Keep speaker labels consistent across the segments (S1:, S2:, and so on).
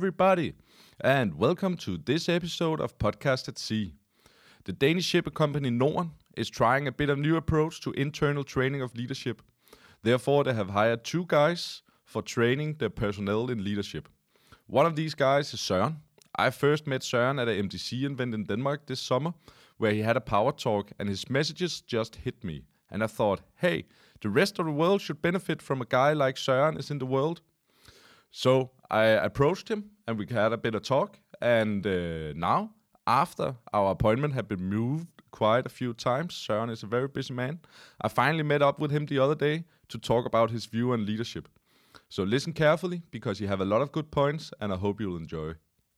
S1: everybody, and welcome to this episode of Podcast at Sea. The Danish shipping company Norden is trying a bit of new approach to internal training of leadership. Therefore, they have hired 2 guys for training their personnel in leadership. One of these guys is Søren. I first met Søren at a MDC event in Denmark this summer, where he had a power talk, and his messages just hit me. And I thought, hey, the rest of the world should benefit from a guy like Søren is in the world. So I approached him, and we had a bit of talk. And now, after our appointment had been moved quite a few times, Søren is a very busy man, I finally met up with him the other day to talk about his view on leadership. So listen carefully, because you have a lot of good points, and I hope you'll enjoy.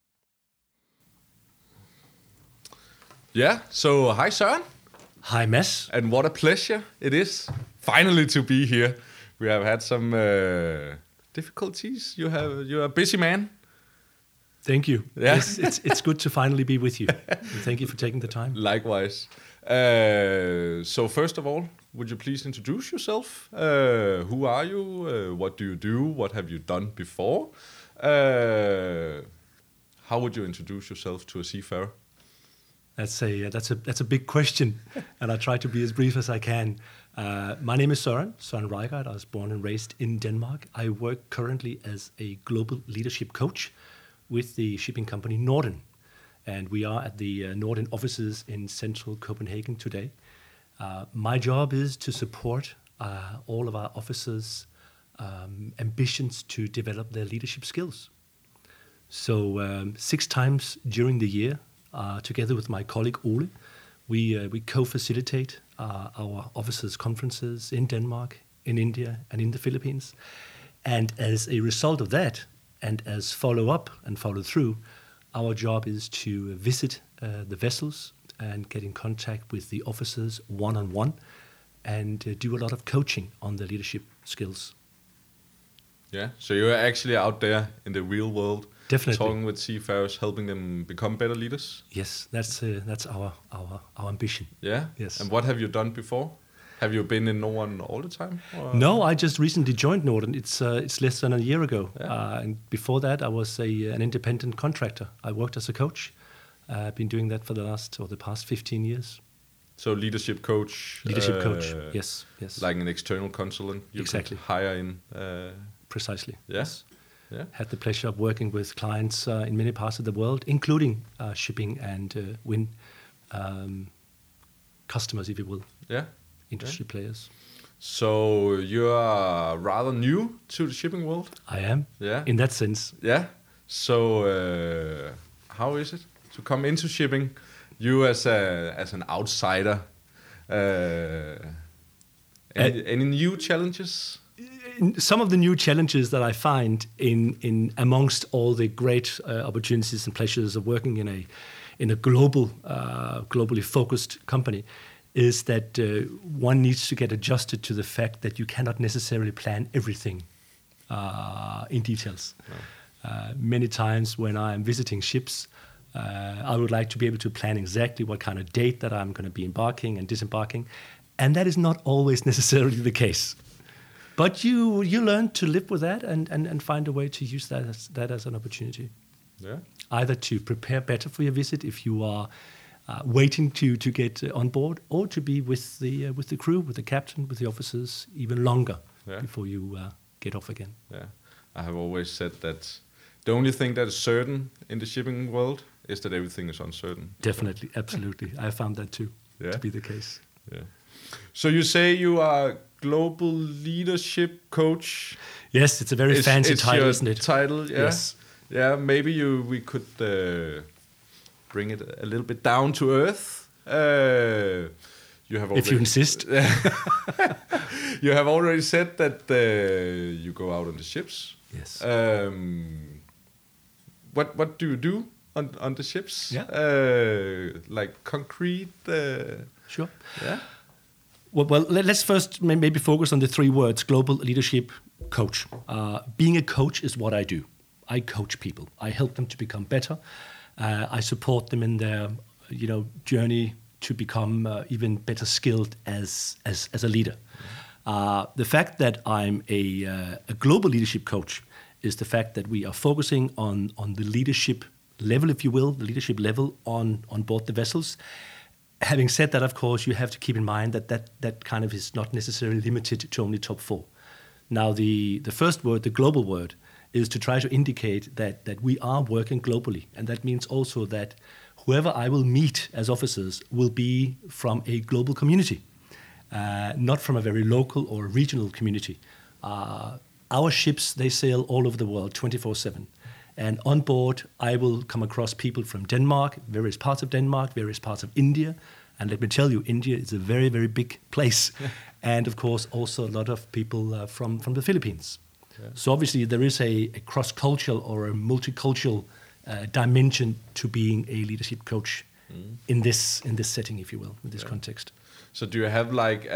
S1: Yeah, so hi Søren.
S2: Hi Mads.
S1: And what a pleasure it is finally to be here. We have had some difficulties. You're a busy man.
S2: Thank you.
S1: Yeah.
S2: Yes, it's good to finally be with you. And thank you for taking the time.
S1: Likewise. So first of all, would you please introduce yourself? Who are you? What do you do? What have you done before? How would you introduce yourself to a seafarer?
S2: That's a big question, and I try to be as brief as I can. My name is Søren Reigard. I was born and raised in Denmark. I work currently as a global leadership coach with the shipping company Norden, and we are at the Norden offices in central Copenhagen today. My job is to support all of our officers' ambitions to develop their leadership skills. So 6 times during the year, together with my colleague Ole, we co-facilitate our officers' conferences in Denmark, in India, and in the Philippines. And as a result of that, and as follow-up and follow-through, our job is to visit the vessels and get in contact with the officers one-on-one and do a lot of coaching on the leadership skills.
S1: Yeah, so you're actually out there in the real world,
S2: definitely
S1: talking with seafarers, helping them become better leaders.
S2: Yes, that's our ambition.
S1: Yeah.
S2: Yes.
S1: And what have you done before? Have you been in Norden all the time? Or?
S2: No, I just recently joined Norden. It's less than a year ago.
S1: Yeah.
S2: And before that, I was an independent contractor. I worked as a coach. I've been doing that for the past 15 years.
S1: So leadership coach.
S2: Leadership coach. Yes.
S1: Like an external consultant. You
S2: exactly.
S1: Could hire in.
S2: Precisely.
S1: Yes. Yeah.
S2: Had the pleasure of working with clients in many parts of the world, including shipping and wind customers, if you will.
S1: Yeah.
S2: Industry players.
S1: So you are rather new to the shipping world?
S2: I am.
S1: Yeah.
S2: In that sense.
S1: Yeah. So how is it to come into shipping? You as an outsider. Any new challenges?
S2: Some of the new challenges that I find in amongst all the great opportunities and pleasures of working in a globally focused company is that one needs to get adjusted to the fact that you cannot necessarily plan everything in details. No. Many times when I am visiting ships, I would like to be able to plan exactly what kind of date that I'm going to be embarking and disembarking, and that is not always necessarily the case. But you learn to live with that and find a way to use that as an opportunity.
S1: Yeah.
S2: Either to prepare better for your visit if you are waiting to get on board, or to be with the crew, with the captain, with the officers even longer before you get off again.
S1: Yeah, I have always said that the only thing that is certain in the shipping world is that everything is uncertain.
S2: Definitely, absolutely. I found that too to be the case.
S1: Yeah. So you say you are global leadership coach.
S2: Yes, it's a very fancy title, isn't it?
S1: Title, yeah. Yes. Yeah, maybe we could bring it a little bit down to earth. You have already,
S2: if you insist.
S1: You have already said that you go out on the ships.
S2: Yes.
S1: What do you do on the ships?
S2: Yeah.
S1: Like concrete.
S2: Sure.
S1: Yeah.
S2: Well, let's first maybe focus on the 3 words: global leadership coach. Being a coach is what I do. I coach people. I help them to become better. I support them in their, journey to become even better skilled as a leader. The fact that I'm a global leadership coach is the fact that we are focusing on the leadership level, if you will, the leadership level on board the vessels. Having said that, of course, you have to keep in mind that kind of is not necessarily limited to only top 4. Now, the first word, the global word, is to try to indicate that we are working globally. And that means also that whoever I will meet as officers will be from a global community, not from a very local or regional community. Our ships, they sail all over the world 24/7. And on board, I will come across people from Denmark, various parts of Denmark, various parts of India. And let me tell you, India is a very, very big place. And of course, also a lot of people from the Philippines. Yeah. So obviously, there is a cross-cultural or a multicultural dimension to being a leadership coach in this setting, if you will, in this context.
S1: So do you have like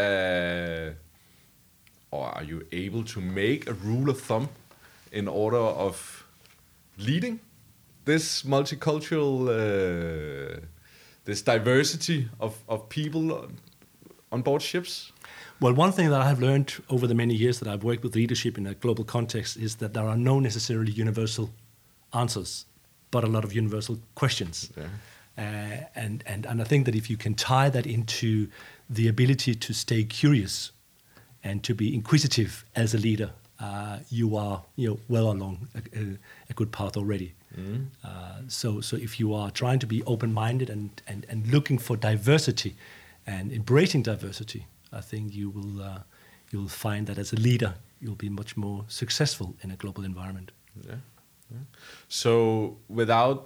S1: or are you able to make a rule of thumb in order of leading this multicultural, this diversity of people on board ships?
S2: Well, one thing that I have learned over the many years that I've worked with leadership in a global context is that there are no necessarily universal answers, but a lot of universal questions. Yeah. And I think that if you can tie that into the ability to stay curious and to be inquisitive as a leader, you are well along a good path already. So if you are trying to be open-minded and looking for diversity and embracing diversity, I think you will find that as a leader you'll be much more successful in a global environment.
S1: Yeah. So without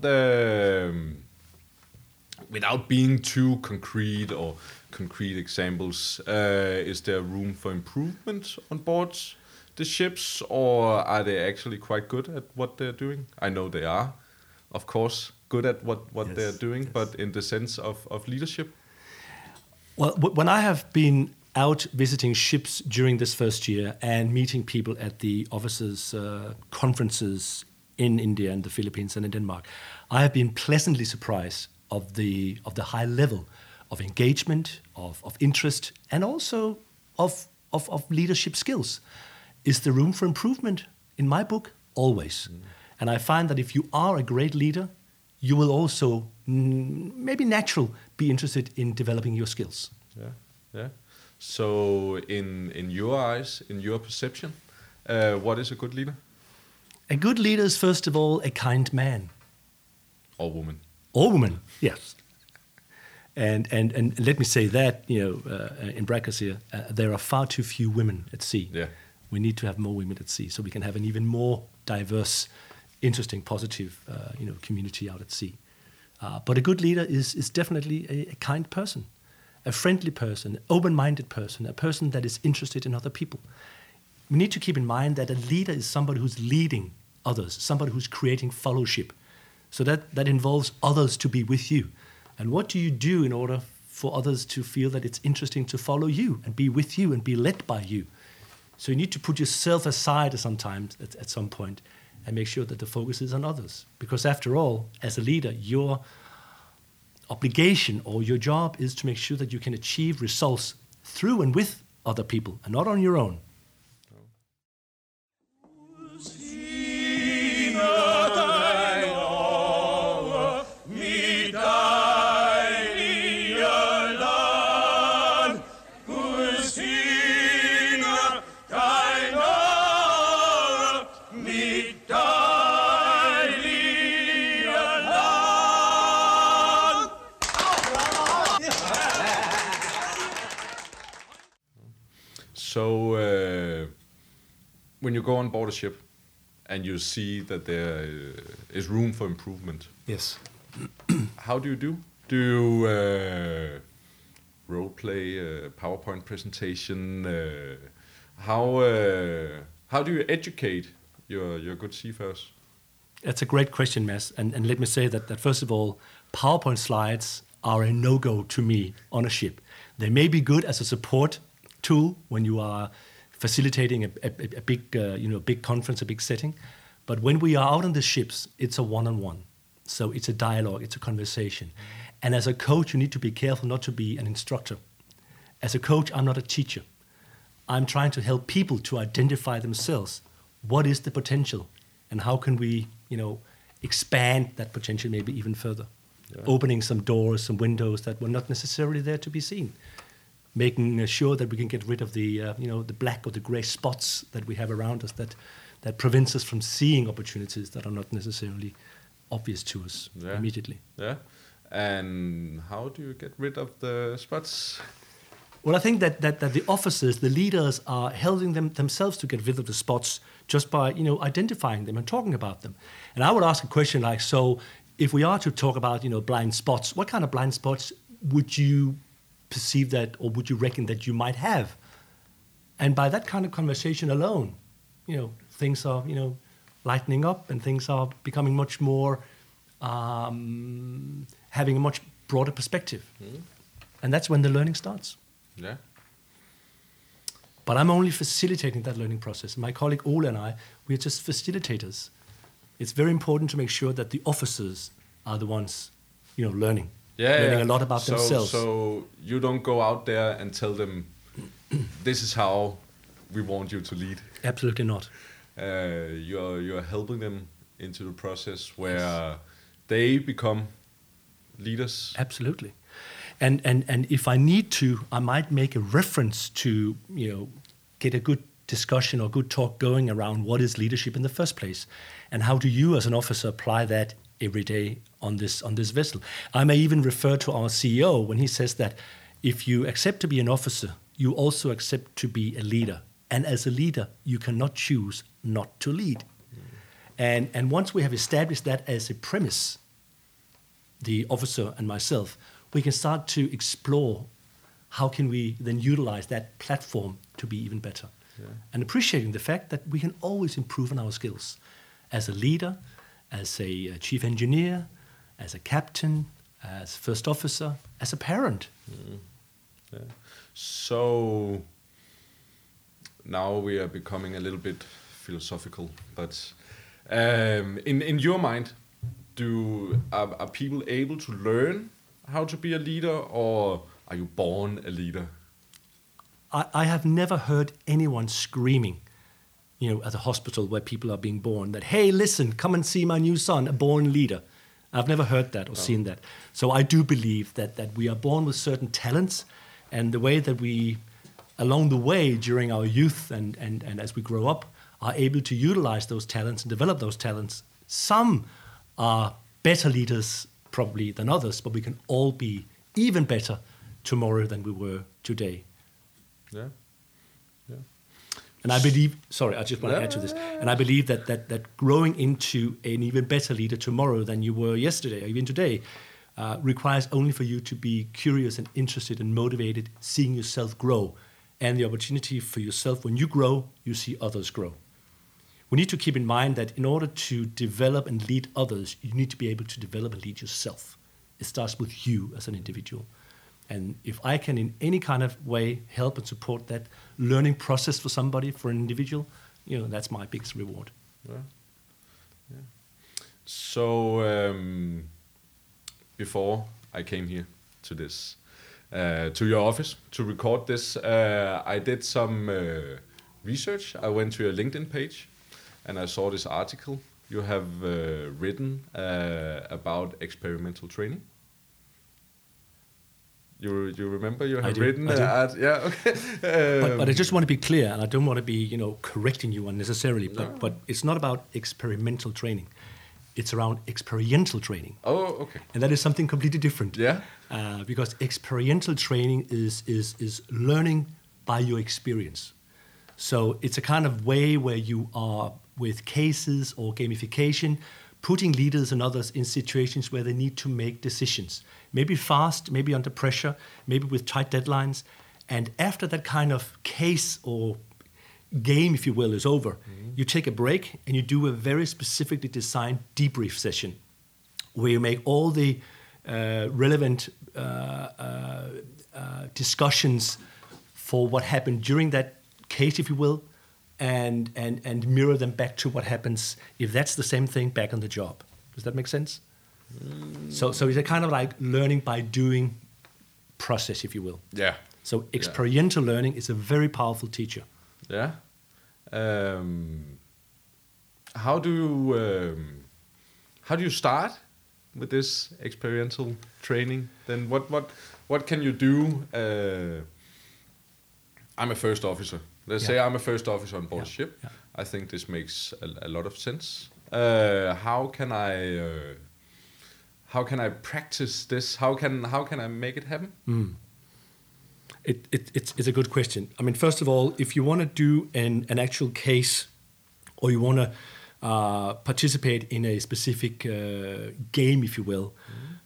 S1: being too concrete examples, is there room for improvement on board the ships, or are they actually quite good at what they're doing? I know they are, of course, good at what they're doing, but in the sense of leadership?
S2: Well, when I have been out visiting ships during this first year and meeting people at the officers' conferences in India and the Philippines and in Denmark, I have been pleasantly surprised of the high level of engagement, of interest, and also of leadership skills. Is there room for improvement? In my book, always. And I find that if you are a great leader, you will also, maybe natural, be interested in developing your skills.
S1: Yeah. So in your eyes, in your perception, what is a good leader?
S2: A good leader is, first of all, a kind man.
S1: Or woman.
S2: Or woman, yes. And let me say that, in brackets here, there are far too few women at sea.
S1: Yeah.
S2: We need to have more women at sea so we can have an even more diverse, interesting, positive, community out at sea. But a good leader is definitely a kind person, a friendly person, an open-minded person, a person that is interested in other people. We need to keep in mind that a leader is somebody who's leading others, somebody who's creating fellowship. So that involves others to be with you. And what do you do in order for others to feel that it's interesting to follow you and be with you and be led by you? So you need to put yourself aside sometimes at some point and make sure that the focus is on others. Because after all, as a leader, your obligation or your job is to make sure that you can achieve results through and with other people and not on your own.
S1: So when you go on board a ship and you see that there is room for improvement,
S2: yes,
S1: how do you do? Do you role play a PowerPoint presentation? How do you educate your good seafarers?
S2: That's a great question, Mads. And let me say that first of all, PowerPoint slides are a no-go to me on a ship. They may be good as a support tool when you are facilitating a big conference, a big setting. But when we are out on the ships, it's a one-on-one. So it's a dialogue, it's a conversation. And as a coach, you need to be careful not to be an instructor. As a coach, I'm not a teacher. I'm trying to help people to identify themselves. What is the potential and how can we, expand that potential maybe even further,
S1: Yeah.
S2: opening some doors, some windows that were not necessarily there to be seen, making sure that we can get rid of the, the black or the gray spots that we have around us that prevents us from seeing opportunities that are not necessarily obvious to us immediately.
S1: Yeah. And how do you get rid of the spots?
S2: Well, I think that the officers, the leaders, are helping themselves to get rid of the spots just by identifying them and talking about them. And I would ask a question like, so if we are to talk about blind spots, what kind of blind spots would you perceive that, or would you reckon that you might have? And by that kind of conversation alone, things are lightening up, and things are becoming much more having a much broader perspective, and that's when the learning starts.
S1: Yeah.
S2: But I'm only facilitating that learning process. My colleague Ole and I, we are just facilitators. It's very important to make sure that the officers are the ones, learning. Learning a lot about themselves.
S1: So you don't go out there and tell them, this is how we want you to lead.
S2: Absolutely not.
S1: You're helping them into the process where they become leaders.
S2: Absolutely. And if I need to, I might make a reference to, get a good discussion or good talk going around what is leadership in the first place, and how do you as an officer apply that every day on this vessel. I may even refer to our CEO when he says that if you accept to be an officer, you also accept to be a leader. And as a leader, you cannot choose not to lead. And once we have established that as a premise, the officer and myself, we can start to explore how can we then utilize that platform to be even better. Yeah. And appreciating the fact that we can always improve on our skills as a leader, as a chief engineer, as a captain, as first officer, as a parent.
S1: Yeah. So now we are becoming a little bit philosophical, but in your mind, are people able to learn how to be a leader, or are you born a leader?
S2: I have never heard anyone screaming, at a hospital where people are being born, that, hey, listen, come and see my new son, a born leader. I've never heard that or seen that. So I do believe that we are born with certain talents, and the way that we, along the way during our youth and as we grow up, are able to utilize those talents and develop those talents. Some are better leaders probably than others, but we can all be even better tomorrow than we were today.
S1: Yeah.
S2: And I believe, sorry, I just want to add to this, and I believe that growing into an even better leader tomorrow than you were yesterday or even today requires only for you to be curious and interested and motivated, seeing yourself grow, and the opportunity for yourself, when you grow, you see others grow. We need to keep in mind that in order to develop and lead others, you need to be able to develop and lead yourself. It starts with you as an individual. And if I can in any kind of way help and support that learning process for somebody, for an individual, that's my biggest reward.
S1: Yeah. So before I came here to this, to your office to record this, I did some research. I went to your LinkedIn page and I saw this article you have written about experimental training. You remember you have written that? Yeah, okay.
S2: But I just want to be clear, and I don't want to be correcting you unnecessarily. But it's not about experimental training; it's around experiential training.
S1: Oh, okay.
S2: And that is something completely different.
S1: Yeah.
S2: Because experiential training is learning by your experience. So it's a kind of way where you are with cases or gamification, putting leaders and others in situations where they need to make decisions. Maybe fast, maybe under pressure, maybe with tight deadlines. And after that kind of case or game, if you will, is over, you take a break and you do a very specifically designed debrief session where you make all the relevant discussions for what happened during that case, if you will, and mirror them back to what happens, if that's the same thing, back on the job. Does that make sense? So it's a kind of like learning by doing process, if you will.
S1: Yeah.
S2: So experiential learning is a very powerful teacher.
S1: Yeah. How do you start with this experiential training? Then what can you do? I'm a first officer. Let's say I'm a first officer on board a ship.
S2: Yeah.
S1: I think this makes a lot of sense. How can I practice this? How can I make it happen?
S2: It's a good question. I mean, first of all, if you want to do an actual case, or you want to participate in a specific game, if you will,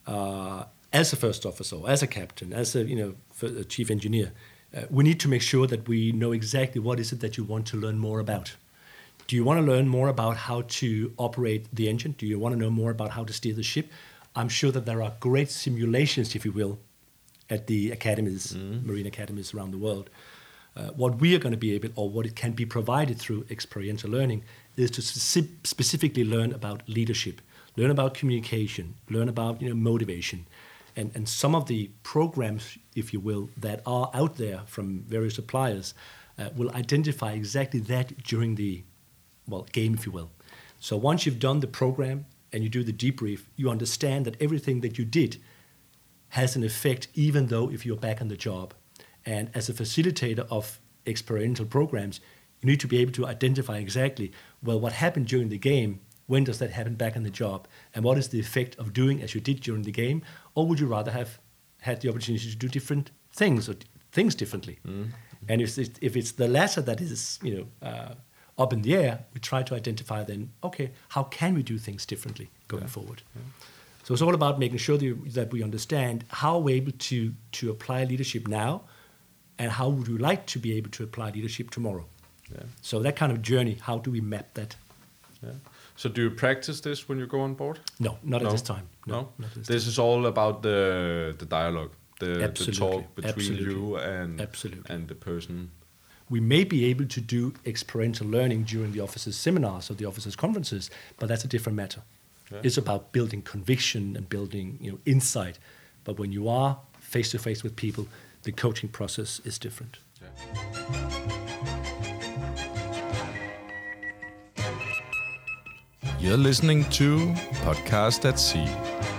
S2: as a first officer, as a captain, as a chief engineer, we need to make sure that we know exactly what is it that you want to learn more about. Do you want to learn more about how to operate the engine? Do you want to know more about how to steer the ship? I'm sure that there are great simulations, if you will, at the academies, marine academies around the world. What we are going to be able, or what it can be provided through experiential learning, is to specifically learn about leadership, learn about communication, learn about motivation, and some of the programs, if you will, that are out there from various suppliers will identify exactly that during the game, if you will. So once you've done the program and you do the debrief, you understand that everything that you did has an effect, even though if you're back on the job. And as a facilitator of experiential programs, you need to be able to identify exactly, what happened during the game, when does that happen back on the job, and what is the effect of doing as you did during the game, or would you rather have had the opportunity to do different things, or things differently? And if it's the latter that is, up in the air, we try to identify then, okay, how can we do things differently going forward? Yeah. So it's all about making sure that we understand how we're able to apply leadership now, and how would we like to be able to apply leadership tomorrow. Yeah. So that kind of journey, how do we map that?
S1: Yeah. So do you practice this when you go on board?
S2: No, not at this time.
S1: No? This is all about the dialogue, the talk between you and the person.
S2: We may be able to do experiential learning during the officers' seminars or the officers' conferences, but that's a different matter. Yeah. It's about building conviction and building insight. But when you are face-to-face with people, the coaching process is different. Yeah.
S1: You're listening to Podcast at Sea.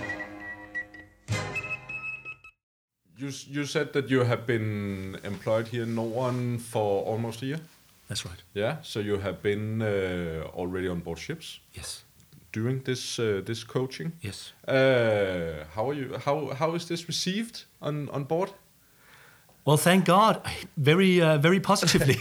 S1: You said that you have been employed here in Norden for almost a year?
S2: That's right.
S1: Yeah, so you have been already on board ships?
S2: Yes.
S1: Doing this coaching?
S2: Yes.
S1: How are you? How is this received on board?
S2: Well, thank God, very positively.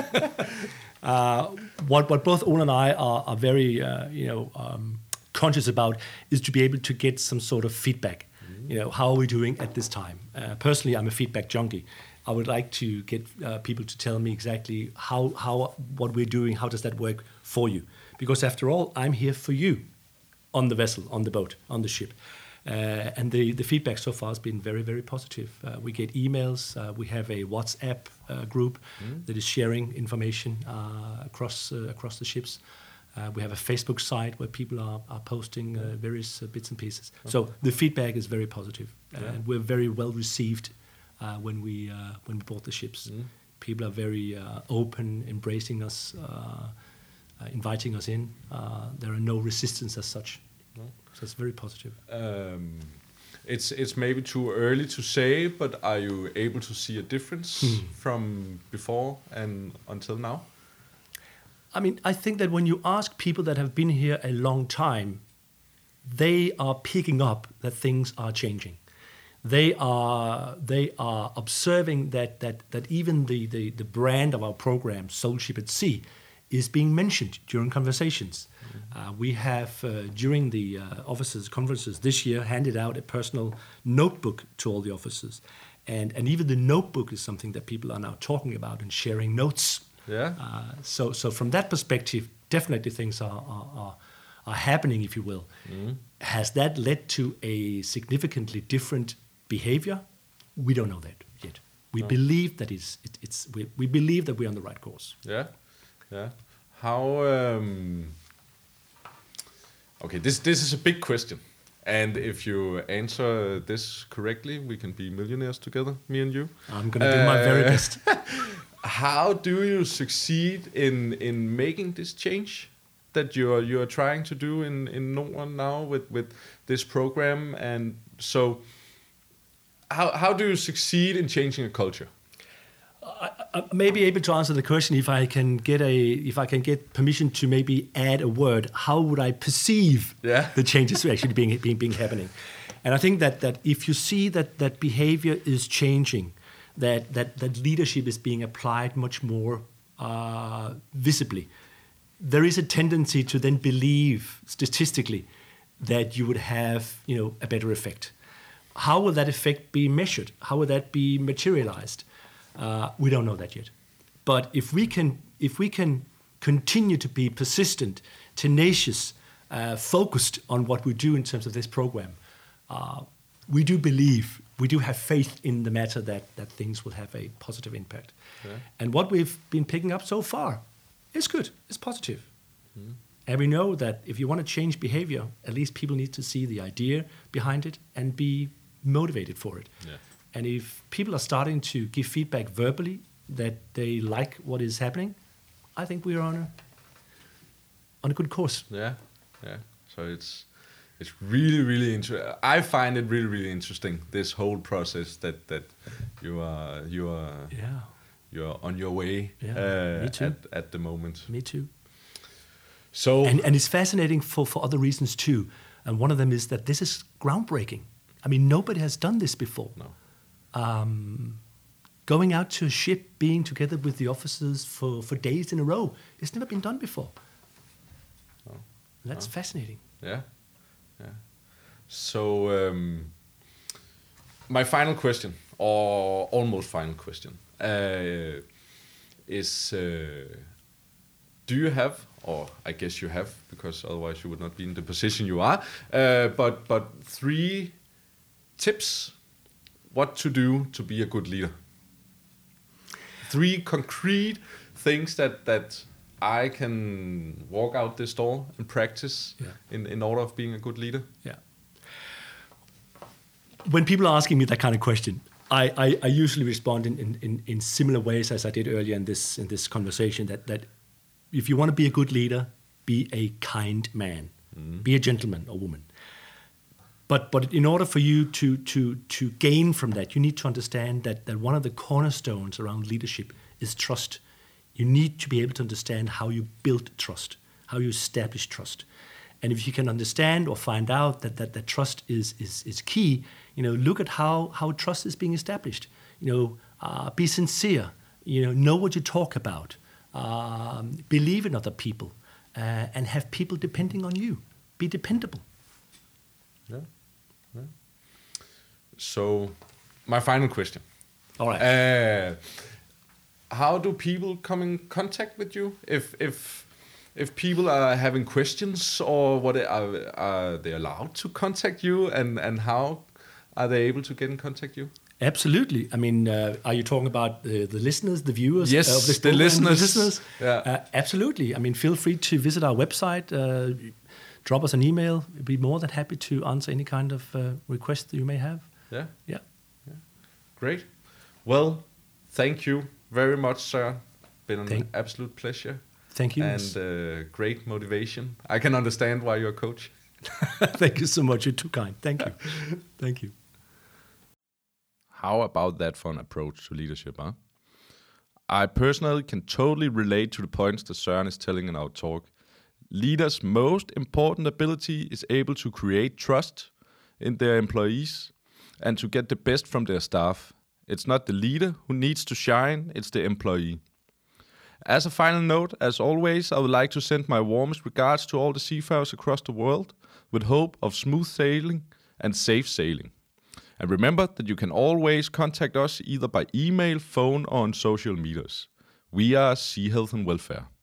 S2: What both Ole and I are very conscious about is to be able to get some sort of feedback. How are we doing at this time? Personally, I'm a feedback junkie. I would like to get people to tell me exactly how what we're doing, how does that work for you? Because after all, I'm here for you on the vessel, on the boat, on the ship. And the feedback so far has been very, very positive. We get emails. We have a WhatsApp group that is sharing information across the ships. We have a Facebook site where people are posting various bits and pieces. Okay. So the feedback is very positive. And we're very well received when we board the ships. People are very open, embracing us, inviting us in. There are no resistance as such. No. So it's very positive.
S1: It's maybe too early to say, but are you able to see a difference from before and until now?
S2: I mean, I think that when you ask people that have been here a long time, they are picking up that things are changing. They are observing that even the brand of our program, Soul Ship at Sea, is being mentioned during conversations. We have, during the officers' conferences this year, handed out a personal notebook to all the officers. And even the notebook is something that people are now talking about and sharing notes.
S1: Yeah.
S2: So from that perspective, definitely things are happening, if you will. Has that led to a significantly different behavior? We don't know that yet. We believe that we believe that we're on the right course.
S1: Yeah. Yeah. How? Okay, this is a big question, and if you answer this correctly, we can be millionaires together, me and you.
S2: I'm gonna do my very best.
S1: How do you succeed in making this change? that you're trying to do in Norden now with this program, and so how do you succeed in changing a culture?
S2: I may be able to answer the question if I can get permission to maybe add a word. How would I perceive the changes actually being happening? And I think that if you see that behavior is changing, that leadership is being applied much more visibly, there is a tendency to then believe statistically that you would have a better effect. How will that effect be measured? How will that be materialized? We don't know that yet. But if we can continue to be persistent, tenacious, focused on what we do in terms of this program, we do have faith in the matter that things will have a positive impact. Yeah. And what we've been picking up so far is good, it's positive. Mm. And we know that if you want to change behavior, at least people need to see the idea behind it and be motivated for it. Yeah. And if people are starting to give feedback verbally that they like what is happening, I think we are on a good course.
S1: Yeah. So it's really, really interesting. I find it really, really interesting, this whole process that you are on your way.
S2: Me too.
S1: At the moment.
S2: Me too.
S1: So
S2: and it's fascinating for other reasons too. And one of them is that this is groundbreaking. I mean, nobody has done this before.
S1: No.
S2: Going out to a ship, being together with the officers for days in a row, it's never been done before.
S1: Oh.
S2: That's fascinating.
S1: Yeah. So my final question, or almost final question, is do you have, or I guess you have, because otherwise you would not be in the position you are, but 3 tips what to do to be a good leader? 3 concrete things that I can walk out this door and practice in order of being a good leader.
S2: Yeah. When people are asking me that kind of question, I usually respond in similar ways as I did earlier in this conversation. That if you want to be a good leader, be a kind man, be a gentleman or woman. But in order for you to gain from that, you need to understand that one of the cornerstones around leadership is trust. You need to be able to understand how you build trust, how you establish trust. And if you can understand or find out that trust is key, look at how trust is being established. Be sincere. Know what you talk about. Believe in other people, and have people depending on you. Be dependable.
S1: Yeah. So, my final question.
S2: All right.
S1: How do people come in contact with you? If people are having questions, or what are they allowed to contact you, and how are they able to get in contact you?
S2: Absolutely. I mean, are you talking about the listeners, the viewers?
S1: Yes,
S2: of this
S1: the listeners.
S2: Yeah. Absolutely. I mean, feel free to visit our website, drop us an email. We'd be more than happy to answer any kind of request that you may have.
S1: Yeah. Great. Well, thank you very much, sir. Been an absolute pleasure.
S2: Thank you.
S1: And great motivation. I can understand why you're a coach.
S2: Thank you so much. You're too kind. Thank you. Thank you.
S1: How about that for an approach to leadership, huh? I personally can totally relate to the points that Søren is telling in our talk. Leaders' most important ability is able to create trust in their employees and to get the best from their staff. It's not the leader who needs to shine, it's the employee. As a final note, as always, I would like to send my warmest regards to all the seafarers across the world with hope of smooth sailing and safe sailing. And remember that you can always contact us either by email, phone, or on social medias. We are Sea Health and Welfare.